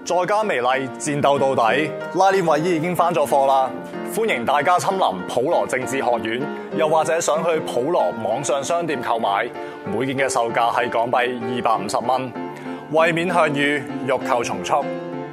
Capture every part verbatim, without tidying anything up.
再加微麗，戰鬥到底。拉鏈衛衣已經翻咗貨啦，歡迎大家親臨普羅政治學院，又或者想去普羅網上商店購買，每件嘅售價係港幣二百五十蚊。為免向隅，欲購從速。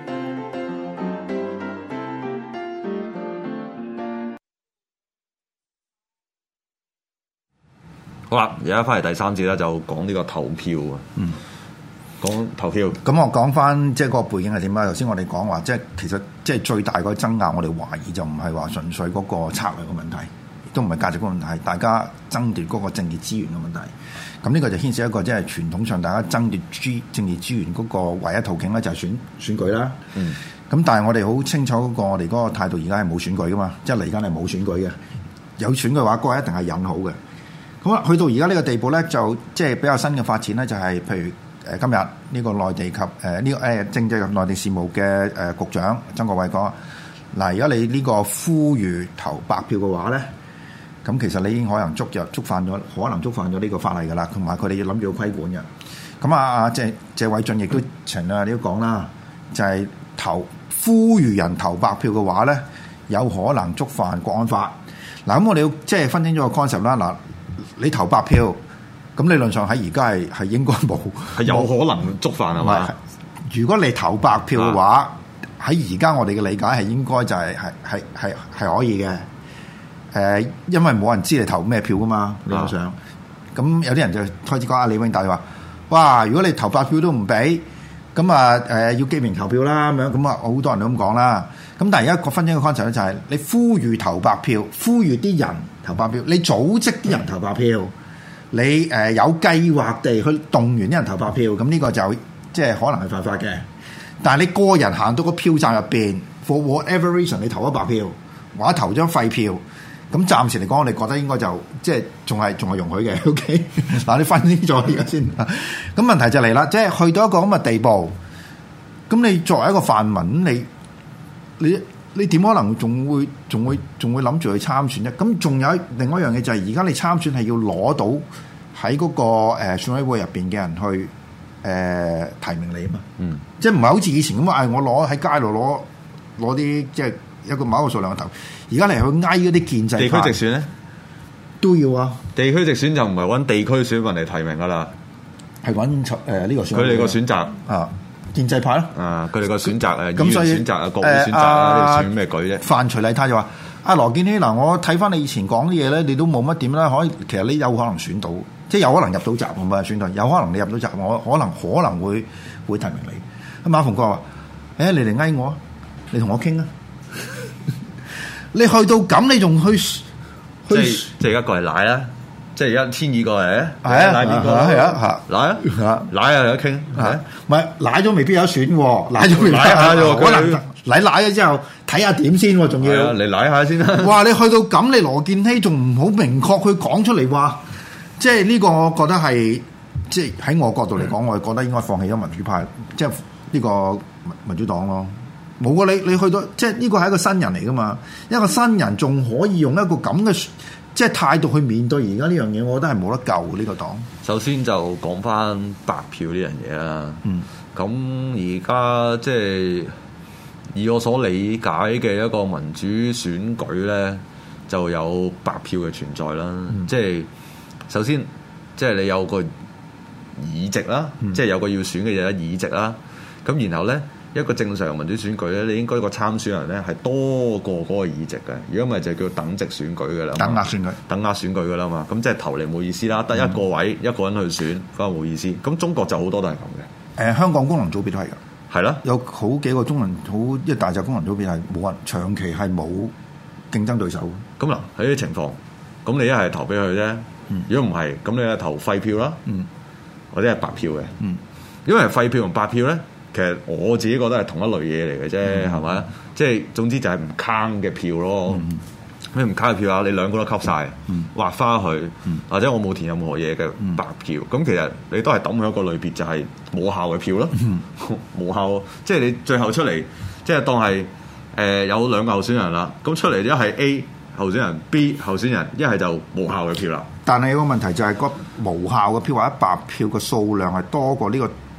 好啦，而家翻嚟第三節咧，就講呢個投票啊。嗯。講投票， 咁我講翻即係個背景係點啊？頭先我哋講話，即係其實即係最大個爭拗，我哋懷疑就唔係話純粹嗰個策略嘅問題，亦都唔係價值觀問題，係大家爭奪嗰個政治資源嘅問題。咁呢個就牽涉一個即係傳統上大家爭奪資政治資源嗰個唯一途徑咧，就係選選舉啦。嗯。咁但係我哋好清楚嗰個我哋嗰個態度，而家係冇選舉噶嘛，即係嚟緊係冇選舉嘅。有選嘅話，嗰個一定係引好嘅。咁啊，去到而家呢個地步咧，就即係比較新嘅發展咧，就係譬如。誒今日呢個內地及誒呢、呃這個誒政制及內地事務嘅誒、呃、局長曾國衛講：嗱，如果你呢個呼籲投白票嘅話咧，咁其實你已經可能觸入觸犯咗，可能觸犯咗呢個法例㗎啦，同埋佢哋要諗住要規管嘅。咁啊啊謝謝偉俊亦都前兩日都講啦，就係、是、投呼籲人投白票嘅話咧，有可能觸犯國安法。嗱，咁我哋要即係分清咗個 concept 啦。嗱，你投白票。咁理論上喺而家係係應該冇， 係有可能觸犯係嘛？ 如果你投白票嘅話，喺而家我哋嘅理解係應該就係係係係係可以嘅。誒、呃，因為冇人知你投咩票噶嘛，理論上。咁有啲人就開始講阿李永達話：哇！如果你投白票都唔俾，咁啊誒要記名投票啦咁樣。咁啊好多人都咁講啦。咁但係而家個分清嘅 concept 咧就係你呼籲投白票，呼籲啲人投白票，你組織啲人投白票。嗯你誒、呃、有計劃地去動員啲人投白票，咁呢個就即係可能係犯法嘅。但係你個人行到個票站入邊 ，for whatever reason 你投咗白票，或者投張廢票，咁暫時嚟講，我哋覺得應該就即係仲係仲係容許嘅。OK，嗱你分清楚呢個先。咁問題就嚟啦，即係去到一個咁嘅地步，咁你作為一個泛民，你你。你點可能仲會仲會仲會諗住去參選啫？咁仲有另外一樣嘢就係而家你參選係要攞到喺嗰、那個誒、呃、選委會入邊嘅人去誒、呃、提名你啊嘛。嗯，即係唔係好似以前咁啊？我攞喺街度攞攞啲即係一個某一個數量嘅頭。而家嚟去挨嗰啲建制派地區直選咧都要啊。地區直選就唔係揾地區選民嚟提名噶啦， 係揾誒呢個選佢哋個選擇啊。建制派咯， 啊！佢哋個選擇誒，議員選擇啊，國會選擇啊，你選咩舉啫？ 范徐麗泰就話：阿羅健熙嗱，我睇翻你以前講啲嘢咧，你都冇乜點啦。可以，其實你有可能選到，即係有可能入到閘，唔係選到，有可能你入到閘，我可能可能會會提名你。咁馬逢國話：誒、欸，你嚟嗌我，你同我傾啊！你去到咁，你仲去去？ 即係即係而家過嚟奶啦！即係而家千二個嚟， 係啊， 奶邊個？ 係啊， 奶啊，奶啊，有得傾，係唔係奶咗未必有得選喎，奶咗未必奶下啫， 可能奶奶咗之後睇下點先，仲要你奶下先啦。 哇！你去到咁，你羅健熙仲唔好明確去講出嚟話，即係呢個我覺得係即係喺我角度嚟講，我係覺得應該放棄咗民主派，即係呢個民主黨咯。冇啊！你你去到即係呢個係一個新人嚟噶嘛，一個新人仲可以用一個咁嘅。即係態度去面對而家呢樣嘢，我覺得係冇得救呢、呢個黨。 首先就講翻白票呢樣嘢啦。嗯，咁而家即係以我所理解嘅一個民主選舉咧，就有白票嘅存在啦。嗯、即係首先，即係你有個議席啦，嗯、即係有個要選嘅嘢議席啦。咁然後咧。一個正常民主選舉咧，你應該個參選人咧係多過嗰個議席嘅。如果唔係就叫等值選舉嘅啦， 等額選舉， 等額選舉嘅啦嘛。咁即係投嚟冇意思啦，得一個位、嗯、一個人去選，咁冇意思。咁中國就好多都係咁嘅。誒、 呃，香港功能組別都係㗎， 係啦， 有好幾個中能好一大隻功能組別係冇人長期係冇競爭對手。 咁嗱喺呢啲情況，咁你一係投俾佢啫。嗯、如果唔係，咁你係投廢票啦，嗯、或者係白票嘅。嗯、因為廢票同白票咧。其實我自己覺得係同一類嘢嚟嘅啫，係咪、嗯？即係總之就係唔坑嘅票咯。咩唔坑嘅票啊？你兩個都吸晒，嗯、劃花佢，嗯、或者我冇填任何嘢嘅白票。咁、嗯、其實你都係抌喺一個類別，就係冇效嘅票咯。冇、嗯、效，即係你最後出嚟，即係當係誒、呃、有兩個候選人啦。咁出嚟一係 A 候選人 ，B 候選人，一係就無效嘅票啦。 但係有個問題就係個無效嘅票或者白票嘅數量係多過呢個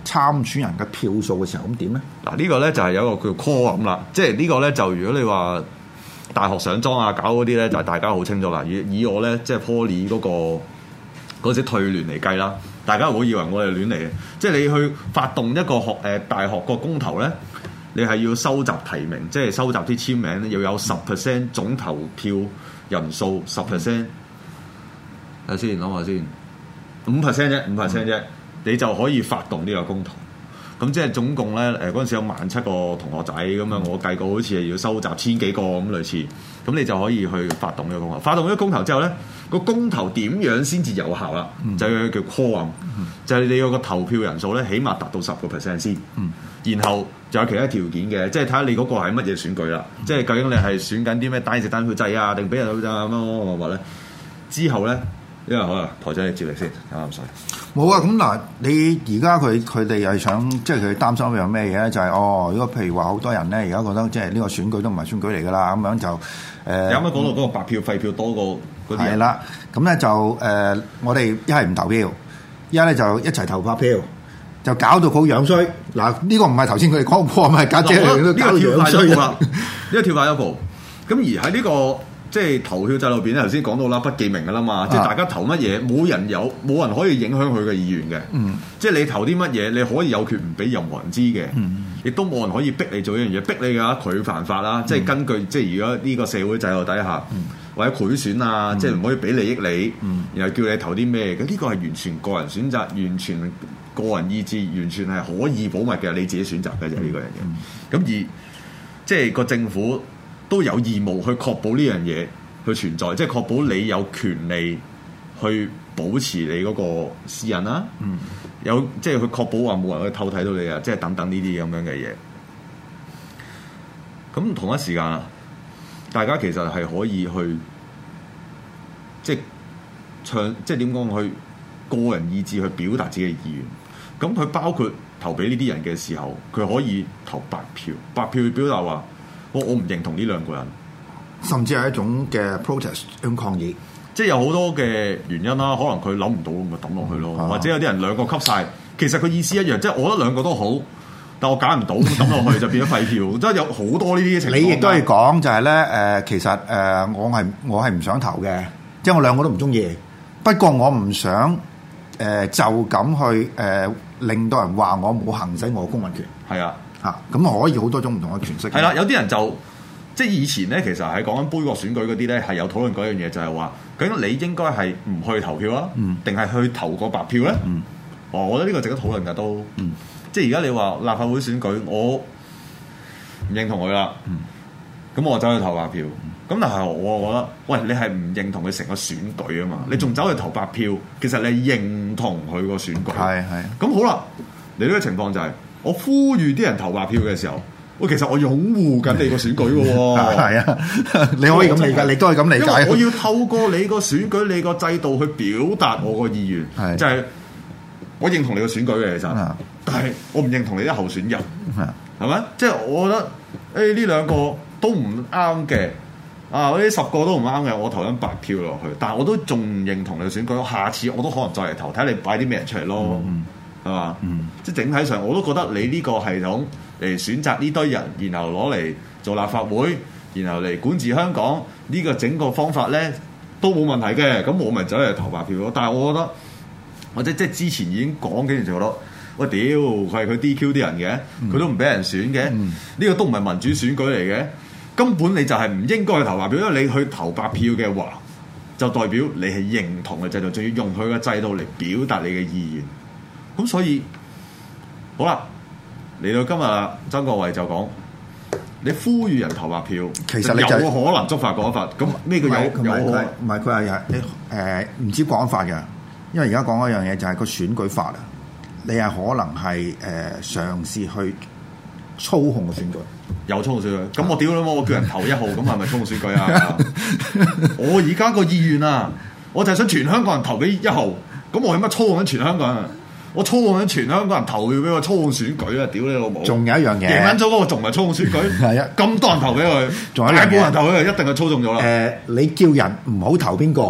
參選人嘅票數嘅時候，咁點咧？ 嗱呢個咧就係有一個叫 quorum 啦，即係呢個咧就如果你話大學上莊啊搞嗰啲咧，就係大家好清楚啦。以以我咧即係 Poly 嗰個嗰時退聯嚟計啦，大家唔好以為我哋亂嚟嘅，即係你去發動一個學誒、呃、大學個公投咧，你係要收集提名，即係收集啲簽名，要有十 percent 總投票人數十 percent。睇先諗下先，五 percent 啫，五 percent 啫，你就可以發動呢個公投。咁即係總共咧，誒嗰陣時有萬七個同學仔咁樣，我計過好似係要收集千幾個咁類似，咁你就可以去發動呢個公投。發動呢個公投之後咧，個公投點樣先至有效啦？嗯、就係叫 quorum，、嗯、就係你有個投票人數咧，起碼達到十個 percent 先。嗯、然後仲有其他條件嘅，即係睇下你嗰個係乜嘢選舉啦。嗯、即係究竟你係選緊啲咩單席單票制啊，定俾人票制啊乜乜乜乜咧？之後咧。因為好啦，台長你接力先，啱唔啱？ 冇啊，咁嗱，你而家佢佢哋係想，即係佢擔心有咩嘢咧？就係、是、哦，如果譬如話好多人咧，而家覺得即係呢個選舉都唔係選舉嚟噶啦，咁樣就誒。呃、有乜講到嗰個白票廢票多過嗰啲？係啦，咁咧就誒、呃，我哋一係唔投票，一係咧就一齊投白票，就搞到好樣衰。嗱，呢個唔係頭先佢哋講過，咪家姐嚟都搞到樣衰啦。呢個跳快一步，咁而喺呢、這個。即係投票制度入邊咧，頭先講到啦，不記名噶啦嘛，啊、即係大家投乜嘢，冇人有，冇人可以影響佢嘅意願嘅。嗯，即係你投啲乜嘢，你可以有權唔俾任何人知嘅。嗯，亦都冇人可以逼你做一樣嘢，逼你嘅話佢犯法啦。嗯、即係根據即係如果呢個社會制度底下，嗯、或者賄選啊，嗯、即係唔可以俾利益你，嗯、然後叫你投啲咩嘅，呢個係完全個人選擇，完全個人意志，完全係可以保密嘅，你自己選擇嘅就係呢個人嘅。咁、嗯、而即係個政府。都有義務去確保呢樣嘢去存在，即係確保你有權利去保持你嗰個私隱啦。嗯，有即係去確保話冇人去偷睇到你啊，即係等等呢啲咁樣嘅嘢。咁同一時間啊，大家其實係可以去即係唱，即係點講去個人意志去表達自己嘅意願。咁佢包括投俾呢啲人嘅時候，佢可以投白票，白票表達話。我我唔認同呢兩個人， 甚至係一種嘅 protest 咁抗議， 即係有好多嘅原因啦。可能佢諗唔到，咪抌落去咯。嗯、或者有啲人兩個吸晒，其實佢意思一樣，即係我覺得兩個都好，但我揀唔到，抌落去就變咗廢票。即係有好多呢啲情況。你亦都係講就係咧誒，其實誒、呃、我係我係唔想投嘅，即係我兩個都唔中意。不過我唔想誒、呃、就咁去誒、呃、令到人話我冇行使我嘅公民權。 係啊。 嚇咁、啊、可以好多種唔同嘅詮釋。係啦，有啲人就即係以前咧，其實係講緊杯葛選舉嗰啲咧，係有討論嗰樣嘢，就係話究竟你應該係唔去投票啊，定係、嗯、去投個白票咧？嗯、哦，我覺得呢個值得討論㗎都。嗯、即係而家你話立法會選舉，我唔認同佢啦。咁、嗯、我走去投白票。咁、嗯、但係我覺得，喂，你係唔認同佢成個選舉啊嘛？嗯、你仲走去投白票，其實你認同佢個選舉。係係。咁好啦，你呢個情況就係、是。我呼籲啲人投白票嘅時候，喂，其實我擁護緊你個選舉嘅喎。係啊，你可以咁理解，你都係咁理解。我要透過你個選舉、你個制度去表達我個意願，是就係我認同你個選舉嘅其實，是但係我唔認同你啲候選人，係咪是？即係我覺得誒呢兩個都唔啱嘅，啊，呢十個都唔啱嘅，我投緊白票落去，但係我都仲唔認同你個選舉，下次我都可能再嚟投，睇下你擺啲咩人出嚟咯。嗯係嘛？嗯、即係整體上，我都覺得你呢個系統嚟選擇呢堆人，然後攞嚟做立法會，然後嚟管治香港，呢、這個整個方法咧都冇問題嘅。咁我咪走嚟投白票咯。但係我覺得，或者即係之前已經講幾年就覺得，喂屌，佢係佢 D Q 啲人嘅，佢、嗯、都唔俾人選嘅，呢、嗯、個都唔係民主選舉嚟嘅。根本你就係唔應該去投白票，因為你去投白票嘅話，就代表你係認同嘅制度，仲要用佢嘅制度嚟表達你嘅意願。咁所以好啦，嚟到今日，曾國衞就講：你呼籲人投白票，其實你就有可能觸犯國安法。咁咩叫有有可能？ 唔係佢係誒唔知國安法嘅，因為而家講一樣嘢就係個選舉法啊。你係可能係誒、呃、嘗試去操控個選舉， 有操控選舉。咁我屌你媽！我叫人投一號，咁係咪操控選舉啊？我而家個意願啊，我就係想全香港人投俾一號。咁我有乜操控緊全香港人？我操控緊全香港人投票俾我操控選舉啊！屌你老母！ 仲有一樣嘢， 贏緊咗嗰個仲唔係操控選舉？係啊，咁多人投俾佢，仲有大部分人投俾佢，一定係操縱咗啦。 誒、呃，你叫人唔好投邊個，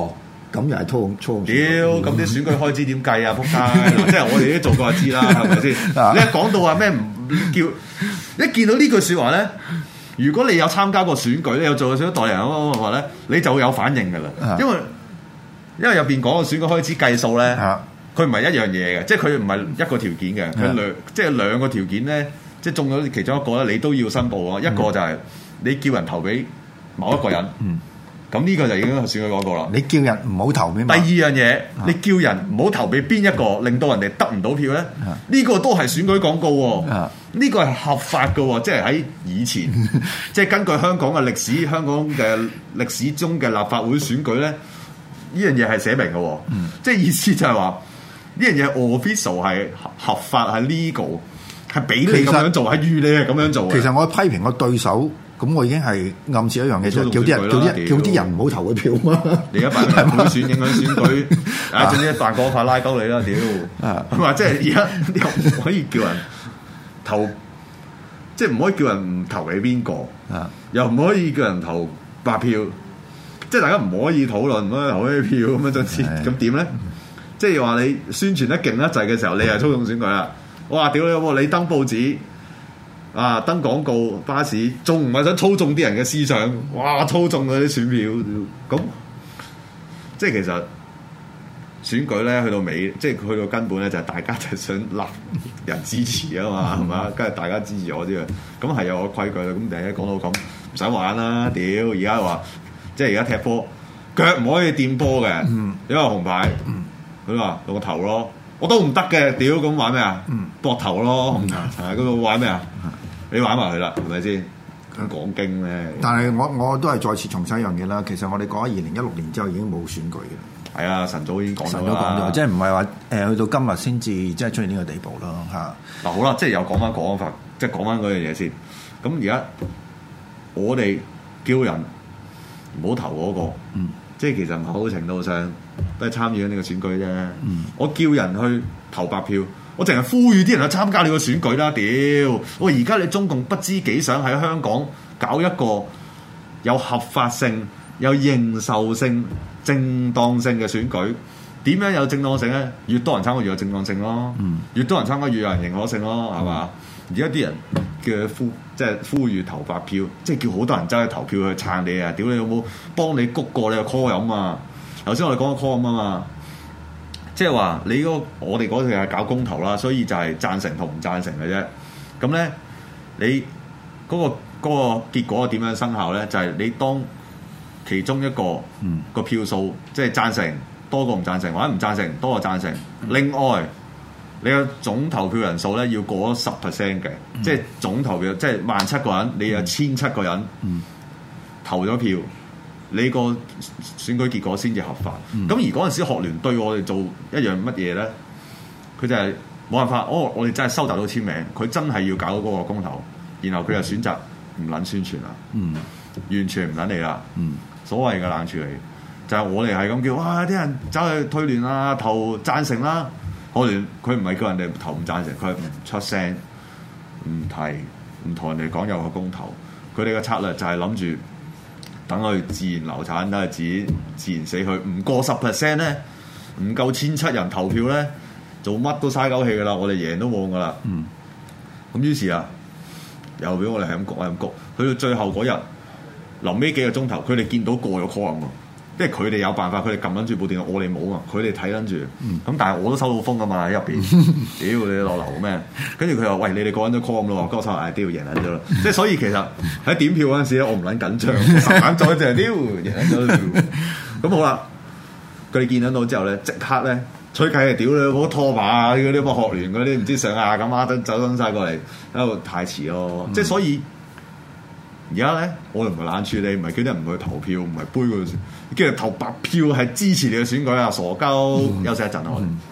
咁又係操控操控。 屌，咁啲選舉開支點計啊？仆街！即係我哋都做過就知啦，係咪先？你一講到話咩唔叫，一見到呢句説話咧，如果你有參加過選舉，你有做過選舉代理人嘅話咧，你就會有反應㗎啦。因為因為入邊講個選舉開支計數咧，佢唔係一樣嘢嘅，即係佢唔係一個條件嘅，佢兩即係兩個條件咧，即係中咗其中一個咧，你都要申報啊。一個就係你叫人投俾某一個人。嗯咁呢個就已經係選舉嗰個啦。你叫人唔好投俾。第二樣嘢，啊、你叫人唔好投俾邊一個，令到人哋得唔到票咧？呢、啊、個都係選舉廣告喎。呢、啊、個係合法嘅喎，即係喺以前，即係根據香港嘅歷史，香港嘅歷史中嘅立法會選舉咧，呢樣嘢係寫明嘅喎。嗯、即係意思就係話，呢樣嘢 official 係合法係 legal， 係俾你咁樣做，係預你係咁樣做。其實我批評個對手。咁我已經係暗示一樣嘢，就叫啲人叫啲叫啲人唔好投佢票嘛。你而家辦普選影響選舉，啊，總之辦嗰法拉鳩你啦，屌！係嘛？即係而家又唔可以叫人投，即係唔可以叫人唔投俾邊個，又唔可以叫人投白票，即係大家唔可以討論，唔可以投咩票咁樣，總之咁點咧？即係話你宣傳得勁得滯嘅時候，你係操縱選舉啦！我話屌你，你登報紙。啊！登廣告、巴士，仲唔係想操縱啲人嘅思想？哇！操縱嗰啲選票，咁即係其實選舉咧，去到尾，即係去到根本咧，就係大家就係想立人支持啊嘛，係嘛？跟住大家支持我啲啊，咁係有個規矩啦。咁第一講到咁，唔使玩啦！屌，而家話即係而家踢波，腳唔可以掂波嘅，因為紅牌。佢話用個頭咯，我都唔得嘅。屌，咁玩咩啊？膊頭咯，係嗰度玩咩啊？你玩埋佢啦，係咪先？講經咧，但係我我都係再次重申一樣嘢啦。其實我哋講咗二零一六年之後已經冇選舉嘅。係啊，晨早已經講咗啦。晨早講咗，即係唔係話誒去到今日先至即係出現呢個地步咯嚇。嗱好啦，即係又講翻講法，即係講翻嗰樣嘢先。咁而家我哋叫人唔好投嗰個，嗯、即係其實某程度上都係參與緊呢個選舉啫。嗯、我叫人去投白票。我淨係呼籲啲人去參加你個選舉啦！屌，我而家你中共不知幾想喺香港搞一個有合法性、有認受性、正當性嘅選舉。點樣有正當性咧？越多人參加越有正當性咯。嗯、越多人參加越有人認可性咯，係嘛？而家啲人叫佢呼，即係呼籲投白票，即係叫好多人走去投票去撐你啊！屌你有冇幫你谷過你個 call 飲啊？頭先我哋講個 call 飲啊嘛。即係話你嗰、那個、我哋嗰條係搞公投啦，所以就係贊成同唔贊成嘅啫。咁咧，你嗰、那個嗰、那個結果點樣生效咧？就係、是、你當其中一個、嗯、個票數即係贊成多過唔贊成，或者唔贊成多過贊成。嗯、另外，你個總投票人數咧要過咗十 percent 嘅，嗯、即係總投票即係萬七個人，你有千七個人、嗯、投咗票。你個選舉結果先至合法。咁、嗯、而嗰陣時學聯對我哋做一樣乜嘢咧？佢就係冇辦法。哦，我哋真係收集到簽名，佢真係要搞嗰個公投，然後佢就選擇唔撚宣傳啦。嗯，完全唔撚你啦。嗯，所謂嘅冷處理就係、是、我哋係咁叫，哇！啲人走去推聯啊，投贊成啦。學聯佢唔係叫人哋投唔贊成，佢係唔出聲，唔提，唔同人哋講有個公投。佢哋嘅策略就係諗住。等佢自然流產，等佢自己自然死去。唔過十 percent 咧，唔夠千七人投票咧，做乜都嘥鳩氣噶啦。我哋贏都冇噶啦。嗯。咁於是啊，又俾我哋係咁焗，係咁焗。去到最後嗰日，臨尾幾個鐘頭，佢哋見到過咗 call 喎。即係佢哋有辦法，佢哋撳撚住部電腦，我哋冇啊。佢哋睇撚住。咁、嗯、但係我都收到風噶嘛喺入邊。屌你落樓咩？跟住佢話：喂，你哋個人都 call 咁咯。跟住我收嗌，屌贏撚咗啦。即係所以其實喺點票嗰陣時咧，我唔撚緊張，眼再就係屌贏撚咗。咁好啦，佢哋見撚到之後咧，即刻咧吹雞係屌你嗰拖把嗰啲乜學聯嗰啲唔知上下咁啊，等走登曬過嚟喺度太遲咯。嗯、即係所以。而家咧，我哋唔係冷處理，唔係叫啲人唔去投票，唔係杯佢，跟住投白票係支持你嘅選舉啊！傻鳩，休息一陣啊！我哋。